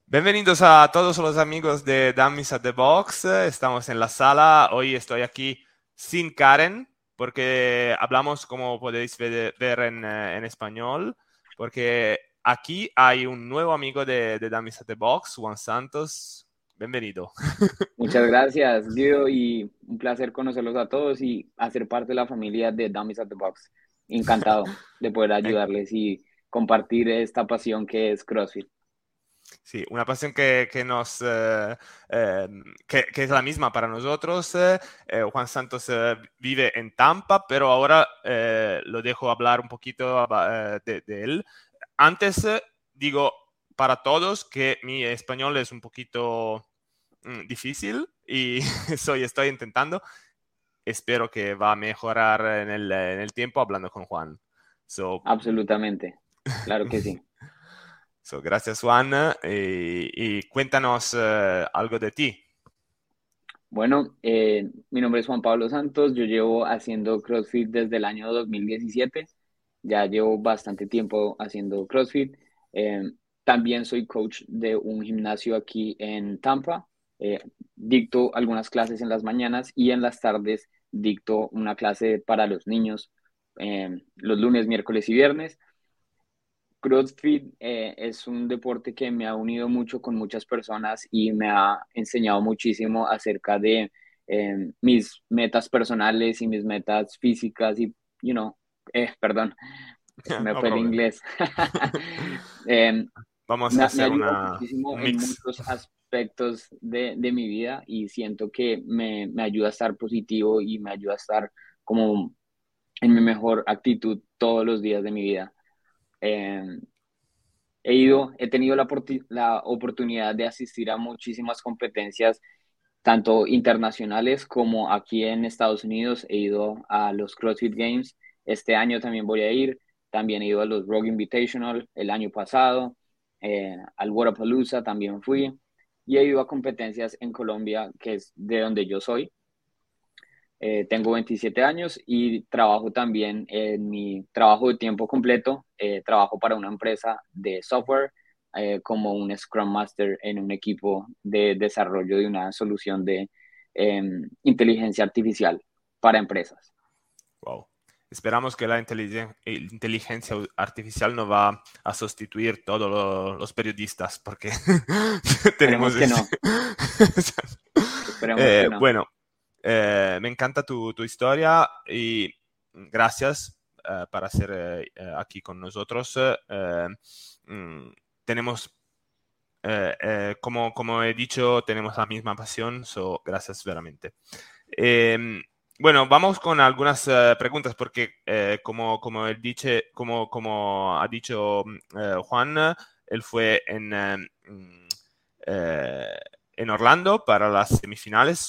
Bienvenidos a todos los amigos de Dummies at the Box. Estamos en la sala. Hoy estoy aquí sin Karen porque hablamos, como podéis ver en español, porque aquí hay un nuevo amigo de Dummies at the Box, Juan Santos. Bienvenido. Muchas gracias, Guido, y un placer conocerlos a todos y hacer parte de la familia de Dummies at the Box. Encantado de poder En- ayudarles y compartir esta pasión que es CrossFit. Sí, una pasión eh, que es la misma para nosotros. Juan Santos vive en Tampa, pero ahora lo dejo hablar un poquito de él. Antes digo para todos que mi español es un poquito difícil y estoy intentando. Espero que va a mejorar en el tiempo hablando con Juan. So, Absolutamente, claro que sí. gracias, Juan. Y cuéntanos algo de ti. Bueno, mi nombre es Juan Pablo Santos, yo llevo haciendo CrossFit desde el año 2017, ya llevo bastante tiempo haciendo CrossFit. Eh, También soy coach de un gimnasio aquí en Tampa. Dicto algunas clases en las mañanas y en las tardes dicto una clase para los niños los lunes, miércoles y viernes. CrossFit es un deporte que me ha unido mucho con muchas personas y me ha enseñado muchísimo acerca de mis metas personales y mis metas físicas y, perdón, se me No fue el problem. inglés. Eh, Vamos a me hacer ayuda muchísimo un en mix. muchos aspectos de mi vida y siento que me ayuda a estar positivo y me ayuda a estar como en mi mejor actitud todos los días de mi vida. Eh, he tenido la oportunidad de asistir a muchísimas competencias, tanto internacionales como aquí en Estados Unidos. He ido a los CrossFit Games. Este año también voy a ir. También he ido a los Rogue Invitational el año pasado. Al Wodapalooza también fui. Y he ido a competencias en Colombia, que es de donde yo soy. Tengo 27 años y trabajo también en mi trabajo de tiempo completo. Trabajo para una empresa de software como un Scrum Master en un equipo de desarrollo de una solución de inteligencia artificial para empresas. Wow. Esperamos que la inteligencia artificial no va a sustituir todos los periodistas, porque tenemos Esperemos que ese... no, esperemos que no. Bueno, me encanta tu historia y gracias para ser aquí con nosotros. Mm, tenemos, como he dicho, tenemos la misma pasión, so gracias veramente. Eh, bueno, vamos con algunas preguntas porque como ha dicho Juan, él fue eh, en Orlando para las semifinales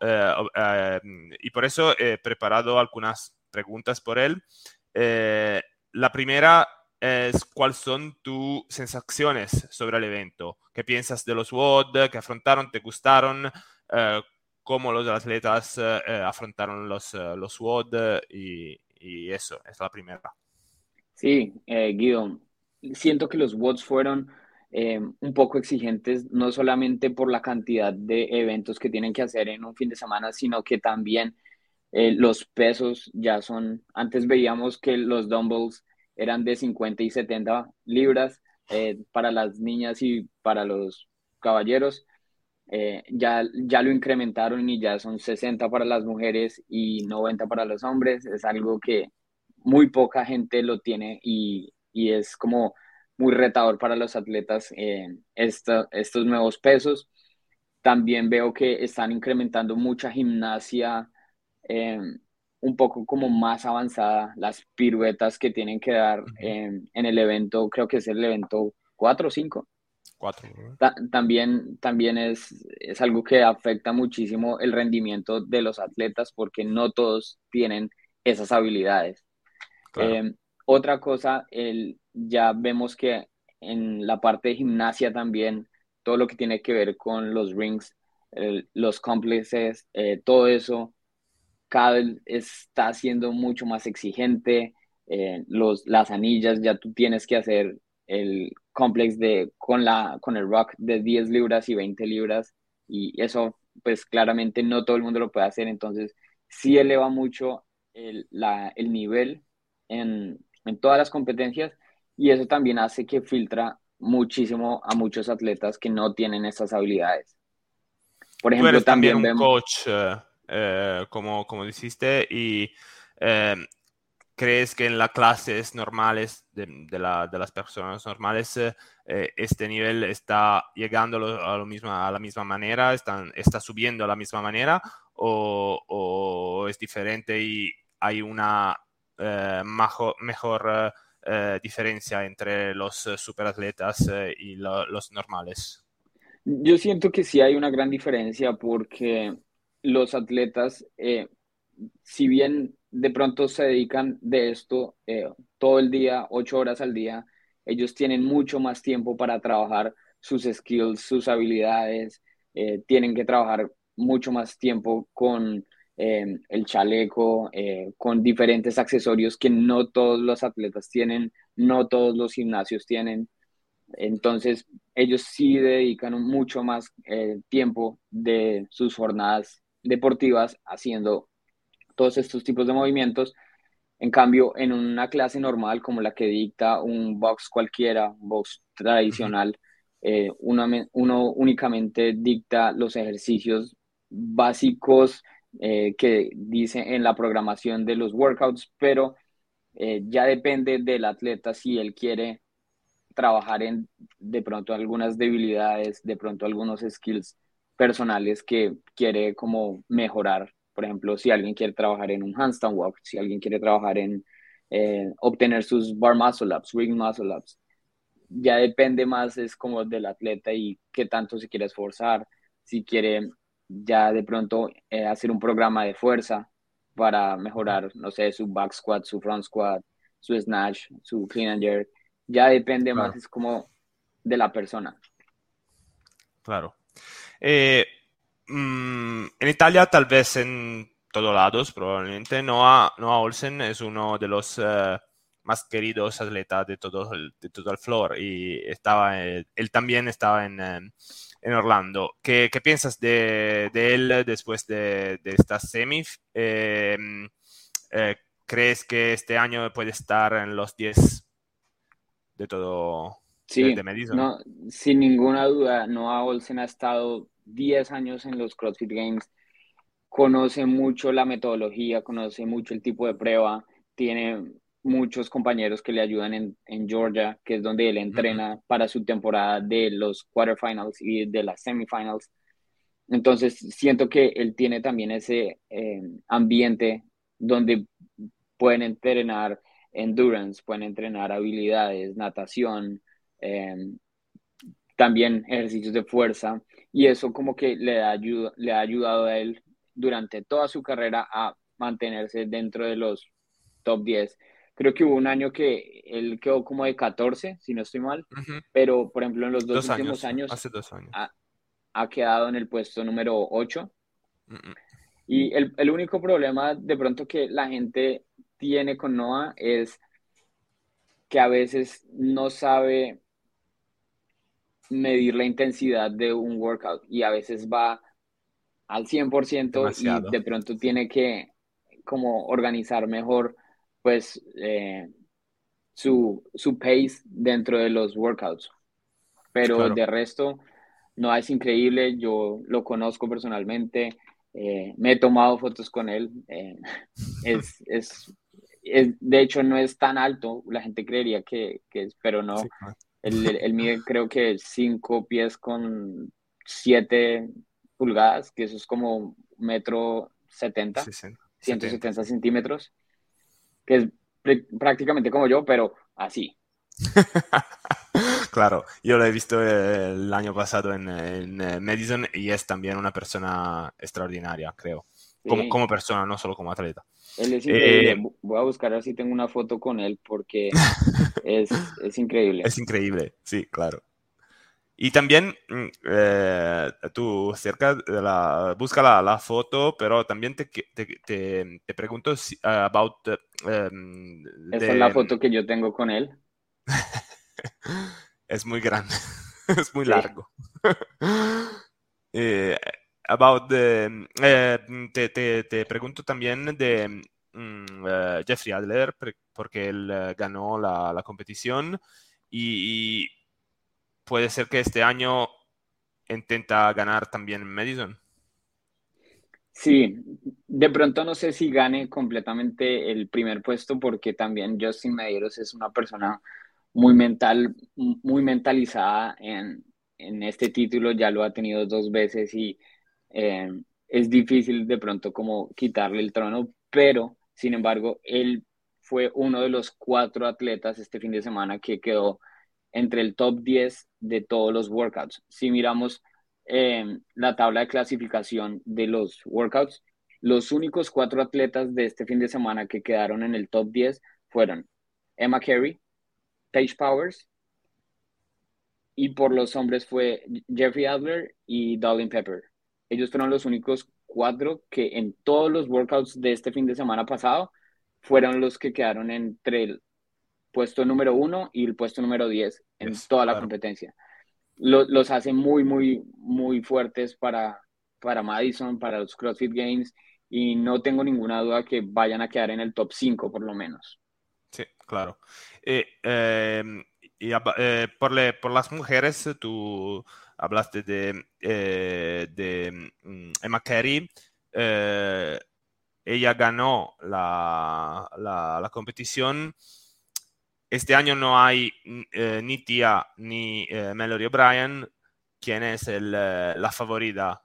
y por eso he preparado algunas preguntas por él. Eh, la primera es, ¿cuáles son tus sensaciones sobre el evento? ¿Qué piensas de los WOD que afrontaron? ¿Te gustaron? Eh, ¿Cómo los atletas afrontaron los WOD? Y eso, es la primera. Sí, Guido, siento que los WODs fueron un poco exigentes, no solamente por la cantidad de eventos que tienen que hacer en un fin de semana, sino que también los pesos ya son, antes veíamos que los dumbbells eran de 50 y 70 libras para las niñas y para los caballeros. Ya lo incrementaron y ya son 60 para las mujeres y 90 para los hombres. Es algo que muy poca gente lo tiene y es como muy retador para los atletas estos nuevos pesos. También veo que están incrementando mucha gimnasia eh, un poco como más avanzada, las piruetas que tienen que dar Ujú. en el evento, creo que es el evento 4 o 5. Cuatro, ¿verdad? También es algo que afecta muchísimo el rendimiento de los atletas porque no todos tienen esas habilidades. Claro. Eh, Otra cosa, ya vemos que en la parte de gimnasia también, todo lo que tiene que ver con los rings, los complexes, todo eso cada vez está siendo mucho más exigente. Las anillas ya tú tienes que hacer. el complex con el rock de 10 libras y 20 libras, y eso pues claramente no todo el mundo lo puede hacer, entonces sí eleva mucho el nivel en todas las competencias, y eso también hace que filtra muchísimo a muchos atletas que no tienen esas habilidades. Por Tú ejemplo, eres también también un vemos, coach, como dijiste, y eh, crees que en las clases normales de las personas normales este nivel está llegando a la misma manera, está subiendo a la misma manera o es diferente y hay una mejor diferencia entre los superatletas y los normales? yo siento que sí hay una gran diferencia porque los atletas, si bien de pronto se dedican de esto todo el día, 8 horas al día, ellos tienen mucho más tiempo para trabajar sus skills, sus habilidades, tienen que trabajar mucho más tiempo con el chaleco, con diferentes accesorios que no todos los atletas tienen, no todos los gimnasios tienen. Entonces, ellos sí dedican mucho más tiempo de sus jornadas deportivas haciendo todos estos tipos de movimientos. En cambio, en una clase normal como la que dicta un box cualquiera, un box Ujú. tradicional, uno únicamente dicta los ejercicios básicos que dice en la programación de los workouts, pero ya depende del atleta si él quiere trabajar en de pronto algunas debilidades, de pronto algunos skills personales que quiere como mejorar. Por ejemplo, si alguien quiere trabajar en un handstand walk, si alguien quiere trabajar en obtener sus bar muscle ups, ring muscle ups, ya depende más, es como del atleta y qué tanto se quiere esforzar, si quiere ya de pronto hacer un programa de fuerza para Ujú. mejorar, no sé, su back squat, su front squat, su snatch, su clean and jerk, ya depende más, Claro, es como de la persona. claro. Eh, en Italia, tal vez en todos lados, probablemente, Noah Olsen es uno de los más queridos atletas de todo el floor y él también estaba en Orlando. ¿Qué piensas de él después de esta semi? Eh, ¿Crees que este año puede estar en los 10 de todo de Sí, Madison? no, sin ninguna duda, Noah Olsen ha estado 10 años en los CrossFit Games, conoce mucho la metodología, conoce mucho el tipo de prueba, tiene muchos compañeros que le ayudan en Georgia, que es donde él Mm, entrena para su temporada de los quarterfinals y de las semifinals. Entonces, siento que él tiene también ese ambiente donde pueden entrenar endurance, pueden entrenar habilidades, natación, eh, también ejercicios de fuerza, y eso como que le ha ayudado a él durante toda su carrera a mantenerse dentro de los top 10. Creo que hubo un año que él quedó como de 14 si no estoy mal, ujú. pero por ejemplo en los dos Dos últimos años, años hace 2 años. ha, ha quedado en el puesto número 8. Mm, mm. Y el único problema de pronto que la gente tiene con Noah es que a veces no sabe medir la intensidad de un workout y a veces va al 100% y Demasiado. de pronto tiene que como organizar mejor pues su pace dentro de los workouts. Pero Claro. de resto, no es increíble, yo lo conozco personalmente, me he tomado fotos con él, es, es, de hecho no es tan alto, la gente creería que es, pero no, Sí, claro. él mide creo que 5 pies con 7 pulgadas, que eso es como 1,70 m, 70, 170 sí. centímetros, que es prácticamente como yo, pero así. Claro, yo lo he visto el año pasado en Madison y es también una persona extraordinaria, creo. Sí. Como persona, no solo como atleta. Él es increíble. Eh, Voy a buscar a ver si tengo una foto con él porque es increíble. es increíble, sí, claro. Y también tú cerca de busca la foto, pero también te pregunto about Esta es la de foto que yo tengo con él. Es muy grande, es muy Sí. largo. Eh, te pregunto también de Jeffrey Adler, porque él ganó la competición y puede ser que este año intenta ganar también Madison. Sí, de pronto no sé si gane completamente el primer puesto porque también Justin Medeiros es una persona muy mental, muy mentalizada en este título, ya lo ha tenido dos veces y eh, es difícil de pronto como quitarle el trono, pero sin embargo, él fue uno de los cuatro atletas este fin de semana que quedó entre el top 10 de todos los workouts. Si miramos la tabla de clasificación de los workouts, los únicos cuatro atletas de este fin de semana que quedaron en el top 10 fueron Emma Carey, Paige Powers, y por los hombres fue Jeffrey Adler y Darlene Pepper. Ellos fueron los únicos cuatro que en todos los workouts de este fin de semana pasado fueron los que quedaron entre el puesto número uno y el puesto número 10 en Yes, toda la claro. competencia. Los hace muy, muy, muy fuertes para Madison, para los CrossFit Games, y no tengo ninguna duda que vayan a quedar en el top 5 por lo menos. Sí, claro. Por las mujeres, tú hablaste de Emma Carey. Eh, Ella ganó la competición. Este año no hay ni Tia ni Mallory O'Brien. ¿Quién es la favorita,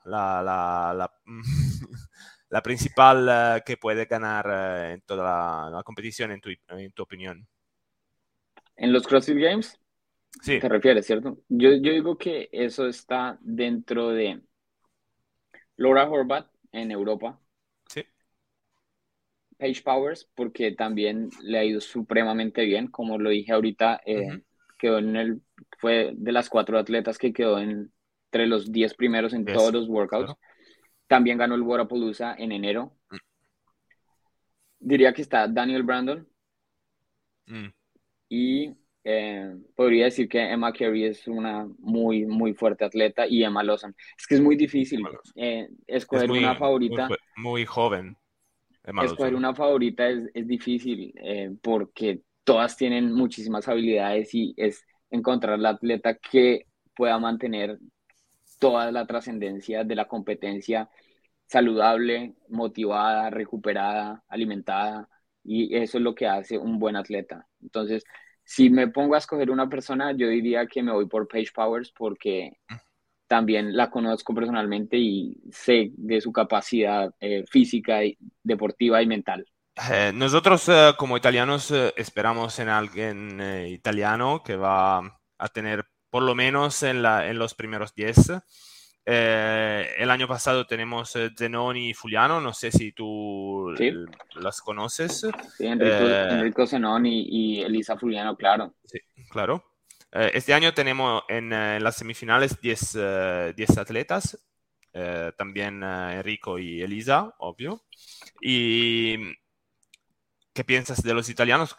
la principal que puede ganar en toda la competición, en tu opinión? En los CrossFit Games, Sí, te refieres, ¿cierto? Yo digo que eso está dentro de Laura Horvath en Europa, sí. Paige Powers, porque también le ha ido supremamente bien, como lo dije ahorita, Ujú. quedó fue de las cuatro atletas que quedó entre los 10 primeros en todos Yes, los workouts. claro. También ganó el Wodapalooza en enero. Diría que está Daniel Brandon Mm. y podría decir que Emma Carey es una muy, muy fuerte atleta y Emma Lawson. Es que es muy difícil Es escoger una favorita. muy joven, Emma Escoger Lawson. una favorita es difícil porque todas tienen muchísimas habilidades y es encontrar la atleta que pueda mantener toda la trascendencia de la competencia saludable, motivada, recuperada, alimentada, y eso es lo que hace un buen atleta. Entonces, si me pongo a escoger una persona, yo diría que me voy por Paige Powers porque también la conozco personalmente y sé de su capacidad física, y deportiva y mental. Nosotros como italianos esperamos en alguien italiano que va a tener por lo menos en los primeros 10. El año pasado tenemos Zenoni y Fuliano, no sé si tú ¿Sí? las conoces. Sí, Eh, Enrico Zenón y Elisa Fuliano, claro. sí, claro. Este año tenemos en las semifinales 10 atletas, también Enrico y Elisa, obvio. Y ¿qué piensas de los italianos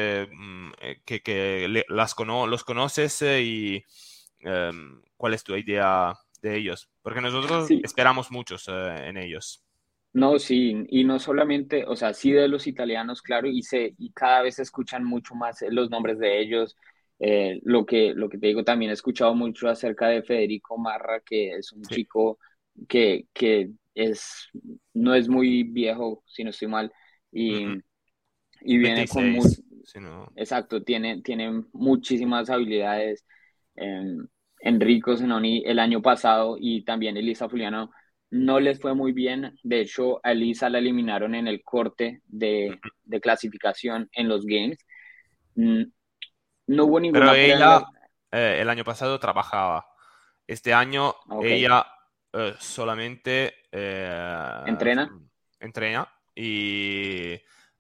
los conoces y cuál es tu idea de ellos? Porque nosotros Sí, esperamos muchos en ellos. no, sí, y no solamente, o sea, sí de los italianos, claro, y cada vez se escuchan mucho más los nombres de ellos. Lo que te digo, también he escuchado mucho acerca de Federico Marra, que es un Sí. chico que no es muy viejo, si no estoy mal, y, Ujú. y viene con 26, si no. exacto, tiene muchísimas habilidades. Enrico Zenoni el año pasado y también Elisa Fuliano no les fue muy bien. De hecho, a Elisa la eliminaron en el corte Ujú. de clasificación en los Games. Mm, No hubo Pero ninguna prueba en ella la... el año pasado trabajaba. Este año Ok, ella solamente entrena. entrena y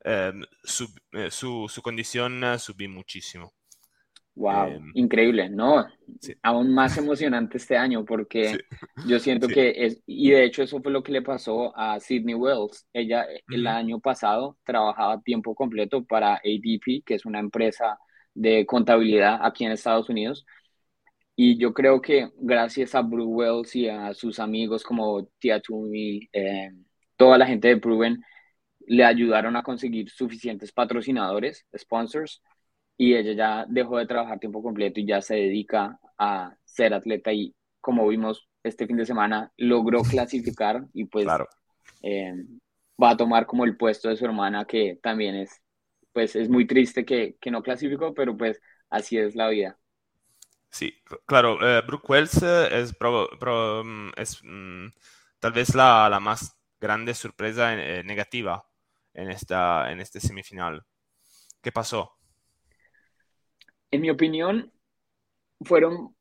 su condición subí muchísimo. Eh, Wow, increíble, ¿no? sí, Aún más emocionante este año sí, porque yo siento sí. que y de hecho eso fue lo que le pasó a Sydney Wells. Ella el Ujú. año pasado trabajaba a tiempo completo para ADP, que es una empresa de contabilidad aquí en Estados Unidos. Y yo creo que gracias a Bruce Wells y a sus amigos como Tia Toomey, toda la gente de Proven, le ayudaron a conseguir suficientes patrocinadores, sponsors, y ella ya dejó de trabajar tiempo completo y ya se dedica a ser atleta y como vimos este fin de semana, logró clasificar y pues Claro. eh, va a tomar como el puesto de su hermana que también pues es muy triste que no clasificó, pero pues así es la vida. Sí, claro, Brooke Wells es tal vez la más grande sorpresa negativa en este semifinal. ¿Qué pasó? En mi opinión, fueron,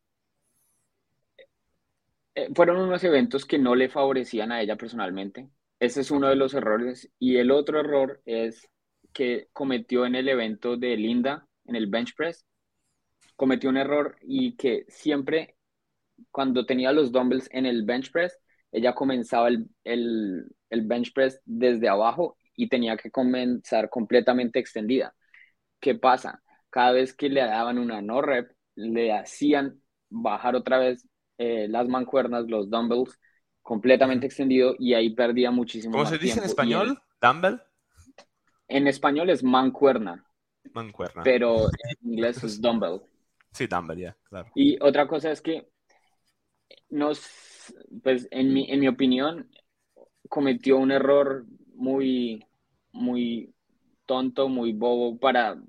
fueron unos eventos que no le favorecían a ella personalmente. Ese es uno Ok. de los errores. Y el otro error es que cometió en el evento de Linda, en el bench press, cometió un error y que siempre cuando tenía los dumbbells en el bench press, ella comenzaba el bench press desde abajo y tenía que comenzar completamente extendida. ¿Qué pasa? Cada vez que le daban una no rep, le hacían bajar otra vez las mancuernas, los dumbbells, Ujú. completamente extendido y ahí perdía muchísimo ¿Cómo se más dice en tiempo. Y español? ¿Dumbbell? en español es mancuerna, Mancuerna. pero en inglés es dumbbell. Sí, dumbbell, ya, claro. Y otra cosa es que pues en mi opinión, cometió un error muy, muy tonto, muy bobo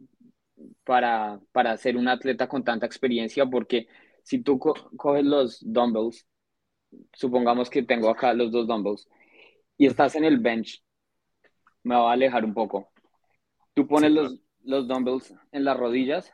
para ser un atleta con tanta experiencia, porque si tú coges los dumbbells, supongamos que tengo acá los dos dumbbells, y Ujú. estás en el bench, me va a alejar un poco. Tú Sí, pones claro. los dumbbells en las rodillas,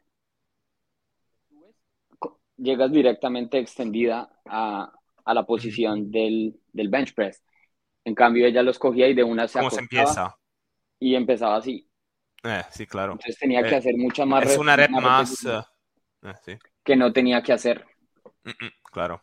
llegas directamente extendida a la Ujú. posición del bench press. En cambio, ella los cogía y de una se ¿Cómo se acostaba empieza? y empezaba así. Sí, claro. Entonces tenía que Eh, hacer muchas más, es una rep más más... repeticiones sí. que no tenía que hacer. Claro.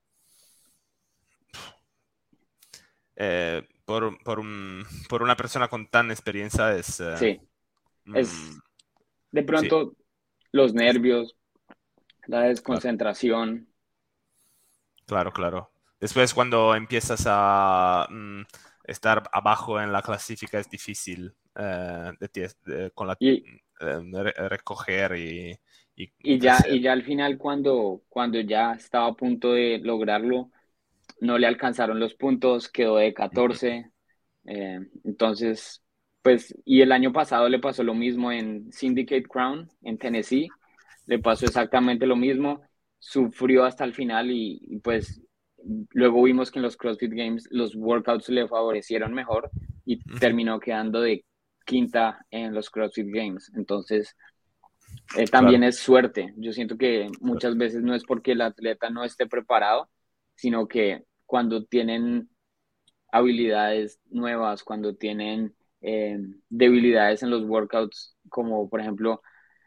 Por una persona con tan experiencia es... Sí, mm, es de sí, pronto los nervios, la claro, desconcentración. claro, claro. Después cuando empiezas a estar abajo en la clasifica es difícil con Y, recoger y crecer. ya al final, cuando ya estaba a punto de lograrlo, no le alcanzaron los puntos, quedó de Mm, mm, 14. Entonces, pues, y el año pasado le pasó lo mismo en Syndicate Crown, en Tennessee. Le pasó exactamente lo mismo. Sufrió hasta el final y pues luego vimos que en los CrossFit Games los workouts le favorecieron mejor y ujú, terminó quedando de quinta en los CrossFit Games. Entonces, también claro, es suerte. Yo siento que muchas suerte. veces no es porque el atleta no esté preparado, sino que cuando tienen habilidades nuevas, cuando tienen debilidades en los workouts, como por ejemplo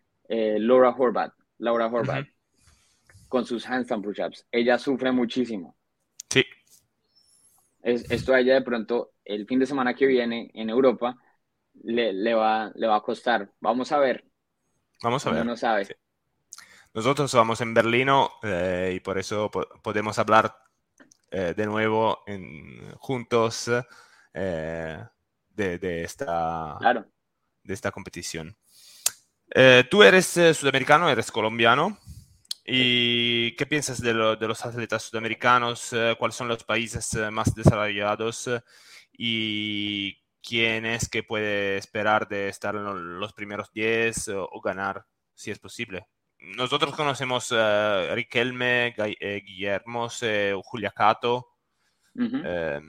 Laura Ujú. Horvath, con sus handstand push-ups, ella sufre muchísimo. Sí, Esto a ella de pronto el fin de semana que viene en Europa le va a costar. Vamos a ver, vamos a uno ver. no sabe. Sí. Nosotros vamos en Berlino y por eso podemos hablar de nuevo juntos eh, Claro. de esta competición. Tú eres sudamericano, eres colombiano. Sí. ¿Y qué piensas de los atletas sudamericanos? ¿Cuáles son los países más desarrollados? ¿Y quién es que puede esperar de estar en los primeros 10 o ganar, si es posible? Nosotros conocemos a Riquelme, Guillermo, Julia Cato, Ujú. eh,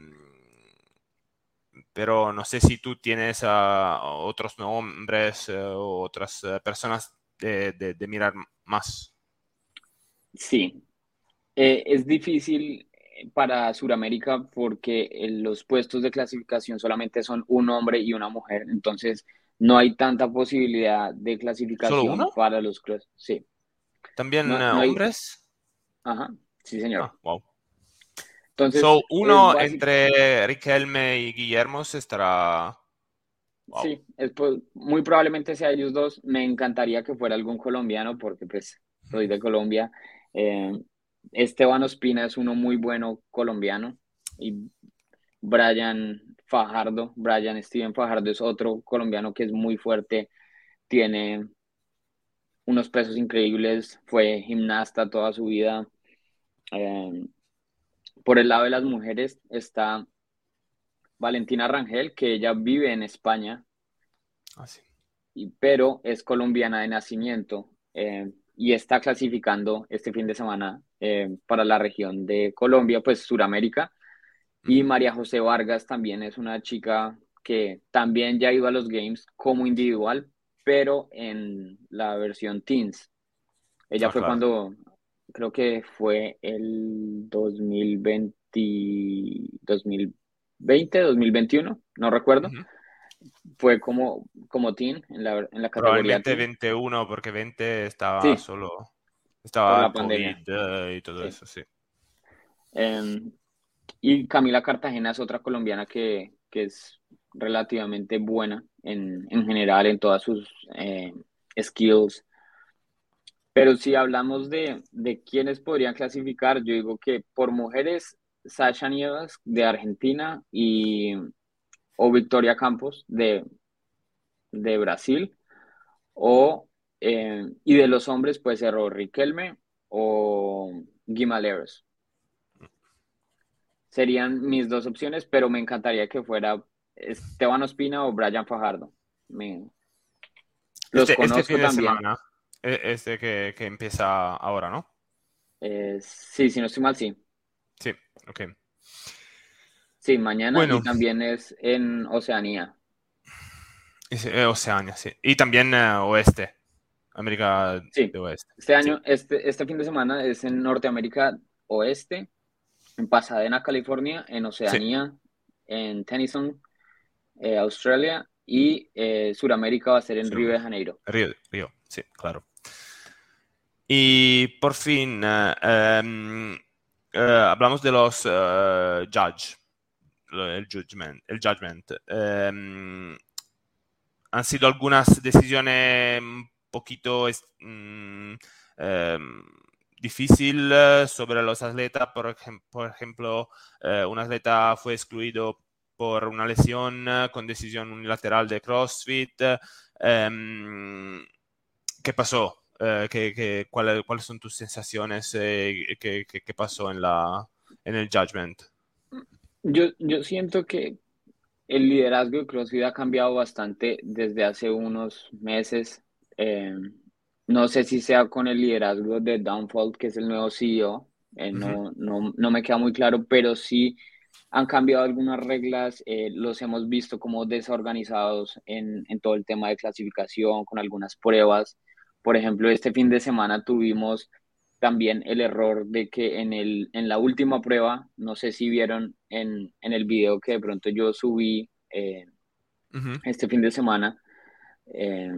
pero no sé si tú tienes a otros nombres o otras personas de mirar más. Sí, es difícil para Sudamérica porque los puestos de clasificación solamente son un hombre y una mujer, entonces no hay tanta posibilidad de ¿Solo clasificación uno? para los cross. Sí, ¿También no hay, hombres? ajá, sí señor. Ah, wow. Entonces So, es uno básico, entre Riquelme y Guillermo estará. Wow. sí, muy probablemente sea ellos dos. Me encantaría que fuera algún colombiano porque pues soy de Colombia. Eh, Esteban Ospina es uno muy bueno colombiano y Brian Steven Fajardo es otro colombiano que es muy fuerte, tiene unos pesos increíbles, fue gimnasta toda su vida. Eh, por el lado de las mujeres está Valentina Rangel, que ella vive en España, Así. pero es colombiana de nacimiento y está clasificando este fin de semana para la región de Colombia, pues Suramérica. Y Ujú. María José Vargas también es una chica que también ya ha ido a los Games como individual, pero en la versión Teens. Ella Ah, fue claro. cuando, creo que fue el 2020, 2021, no recuerdo. Ujú. Fue como teen en la categoría Probablemente teen. 21 porque 20 estaba Sí, solo, por estaba la el pandemia. COVID y todo Sí. eso, sí. Em, y Camila Cartagena es otra colombiana que es relativamente buena en general en todas sus skills. Pero si hablamos de quiénes podrían clasificar, yo digo que por mujeres, Sasha Nievas de Argentina o Victoria Campos de Brasil, y de los hombres puede ser o Riquelme o Guimaleros. Serían mis dos opciones, pero me encantaría que fuera Esteban Ospina o Brian Fajardo. Los Este conozco fin de también. semana, este que empieza ahora, ¿no? Sí, si no estoy mal, sí. Sí, ok. Sí, mañana y Bueno, también es en Oceanía. Oceania, sí. Y también oeste, América Sí, de Oeste. este Sí. año, este fin de semana es en Norteamérica Oeste, en Pasadena, California, en Sí, Oceanía, en Tennyson, Australia, y Suramérica va a ser en Río Sudamérica. de Janeiro. Río, sí, claro. Y por fin, hablamos de los judge, el judgment. Han sido algunas decisiones un poquito em, difícil sobre los atletas. Por ejemplo, un atleta fue excluido por una lesión con decisión unilateral de CrossFit. ¿Qué pasó? ¿Cuáles son tus sensaciones? ¿Qué pasó en el judgment? Yo siento que el liderazgo de CrossFit ha cambiado bastante desde hace unos meses. Eh, no sé si sea con el liderazgo de Downfall, que es el nuevo CEO. Ujú, No me queda muy claro, pero sí han cambiado algunas reglas. Los hemos visto como desorganizados en todo el tema de clasificación, con algunas pruebas. Por ejemplo, este fin de semana tuvimos también el error de que en la última prueba, no sé si vieron en el video que de pronto yo subí ujú, este fin de semana, eh,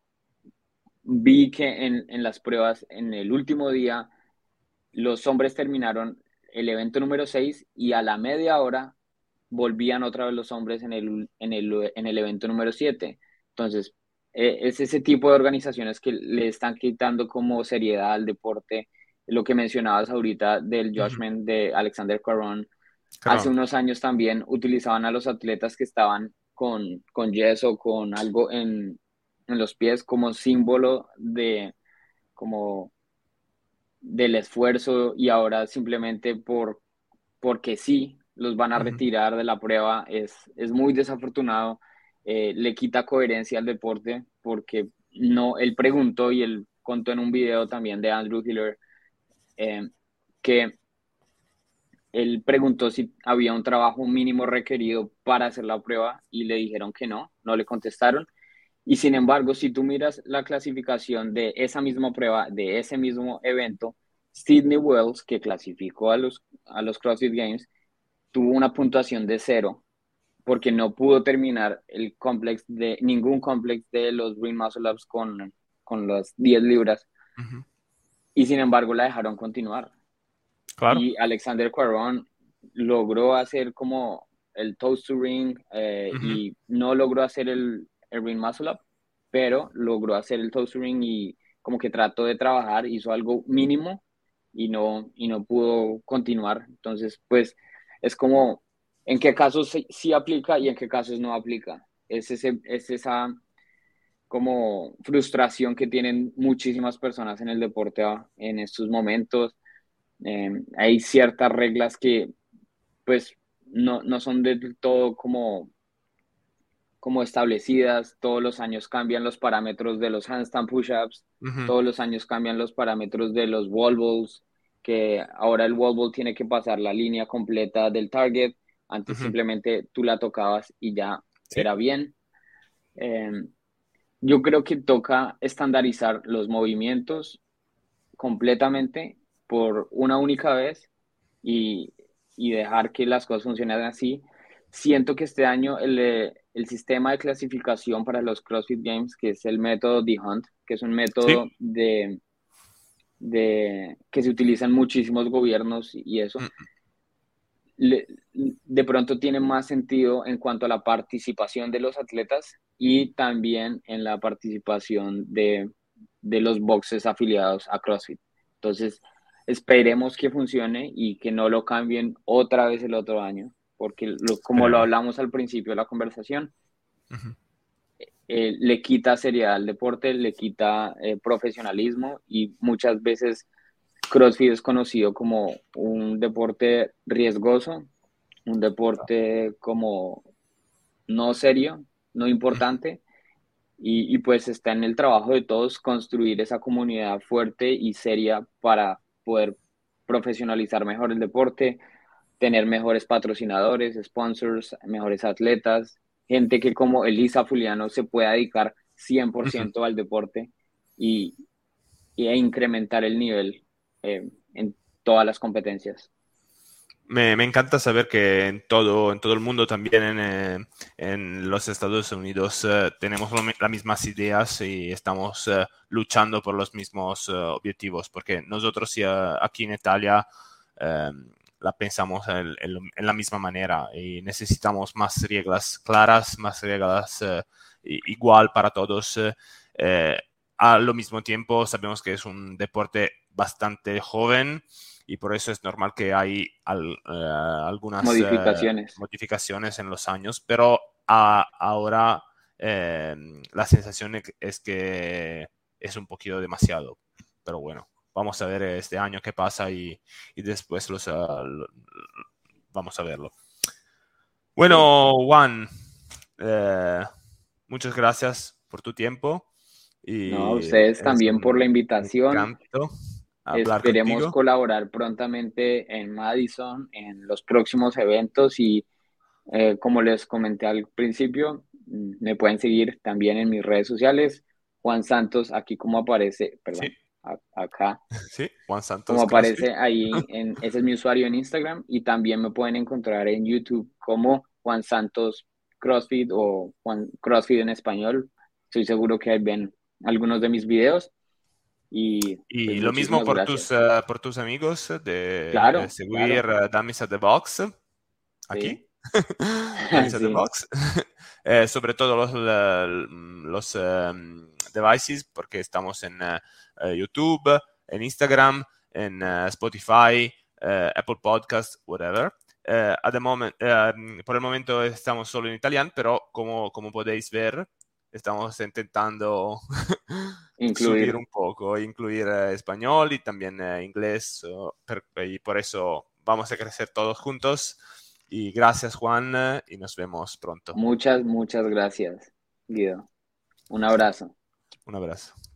vi que en las pruebas, en el último día, los hombres terminaron el evento número 6 y a la media hora volvían otra vez los hombres en el evento número 7. Entonces, es ese tipo de organizaciones que le están quitando como seriedad al deporte. Lo que mencionabas ahorita del ujú. judgment de Alexander Caron. Hace Claro. unos años también utilizaban a los atletas que estaban con yeso, con algo en los pies como símbolo como del esfuerzo y ahora simplemente porque sí los van a Ujú. retirar de la prueba es muy desafortunado. Le quita coherencia al deporte porque no, él preguntó y él contó en un video también de Andrew Hiller eh, que él preguntó si había un trabajo mínimo requerido para hacer la prueba y le dijeron que no le contestaron. Y sin embargo, si tú miras la clasificación de esa misma prueba, de ese mismo evento, Sidney Wells, que clasificó a los CrossFit Games, tuvo una puntuación de 0 porque no pudo terminar ningún complex de los Green Muscle Ups con las 10 libras Ujú. y sin embargo la dejaron continuar. Claro. Y Alexander Cuarón logró hacer como el toes to ring Ujú, y no logró hacer el ring muscle up, pero logró hacer el toes to ring y como que trató de trabajar, hizo algo mínimo y no pudo continuar. Entonces, pues es como en qué casos sí aplica y en qué casos no aplica. Es esa como frustración que tienen muchísimas personas en el deporte en estos momentos. Hay ciertas reglas que pues no son del todo como establecidas. Todos los años cambian los parámetros de los handstand push-ups, ujú, todos los años cambian los parámetros de los wall balls, que ahora el wall ball tiene que pasar la línea completa del target. Antes ujú. simplemente tú la tocabas y ya Sí, era bien. Eh, yo creo que toca estandarizar los movimientos completamente por una única vez y, y dejar que las cosas funcionen así. Siento que este año el sistema de clasificación para los CrossFit Games, que es el método D-Hunt, que es un sí. método de que se utiliza en muchísimos gobiernos y eso, Mm, le- de pronto tiene más sentido en cuanto a la participación de los atletas y también en la participación de los boxes afiliados a CrossFit. Entonces, esperemos que funcione y que no lo cambien otra vez el otro año, porque como lo esperemos. hablamos al principio de la conversación, Ujú. le quita seriedad al deporte, le quita profesionalismo y muchas veces CrossFit es conocido como un deporte riesgoso, un deporte como no serio, no Ujú. importante, y pues está en el trabajo de todos construir esa comunidad fuerte y seria para poder profesionalizar mejor el deporte, tener mejores patrocinadores, sponsors, mejores atletas, gente que como Elisa Fuliano se pueda dedicar Ujú. 100% al deporte y, e incrementar el nivel en todas las competencias. Me encanta saber que en todo el mundo, también en los Estados Unidos, tenemos las mismas ideas y estamos luchando por los mismos objetivos, porque nosotros ya aquí en Italia eh, la pensamos en la misma manera y necesitamos más reglas claras, más reglas igual para todos. Eh, Al mismo tiempo, sabemos que es un deporte bastante joven y por eso es normal que hay algunas Modificaciones. modificaciones en los años, pero ahora eh, la sensación es que es un poquito demasiado. Pero bueno, vamos a ver este año qué pasa y después vamos a verlo. Sí. Bueno, Juan, eh, muchas gracias por tu tiempo No, a y ustedes es también por la un invitación. encanto hablar Esperemos contigo. colaborar prontamente en Madison, en los próximos eventos y como les comenté al principio, me pueden seguir también en mis redes sociales. Juan Santos, aquí como aparece, Sí, perdón, acá, sí, Juan como Santos CrossFit. aparece ahí, ese es mi usuario en Instagram y también me pueden encontrar en YouTube como Juan Santos CrossFit o Juan CrossFit en español. Estoy seguro que ahí ven algunos de mis videos y pues Y lo mismo muchísimas gracias. por tus amigos de Claro, seguir claro, Dummies at the Box sí, aquí. Dummies at the sí, Box. Sobre todo los devices, porque estamos en YouTube, en Instagram, en Spotify, Apple Podcast, whatever. Por el momento estamos solo en italiano, pero como podéis ver, estamos intentando subir incluir. un poco, incluir español y también inglés, y por eso vamos a crecer todos juntos. Y gracias, Juan, y nos vemos pronto. Muchas, muchas gracias, Guido. Un abrazo. Un abrazo.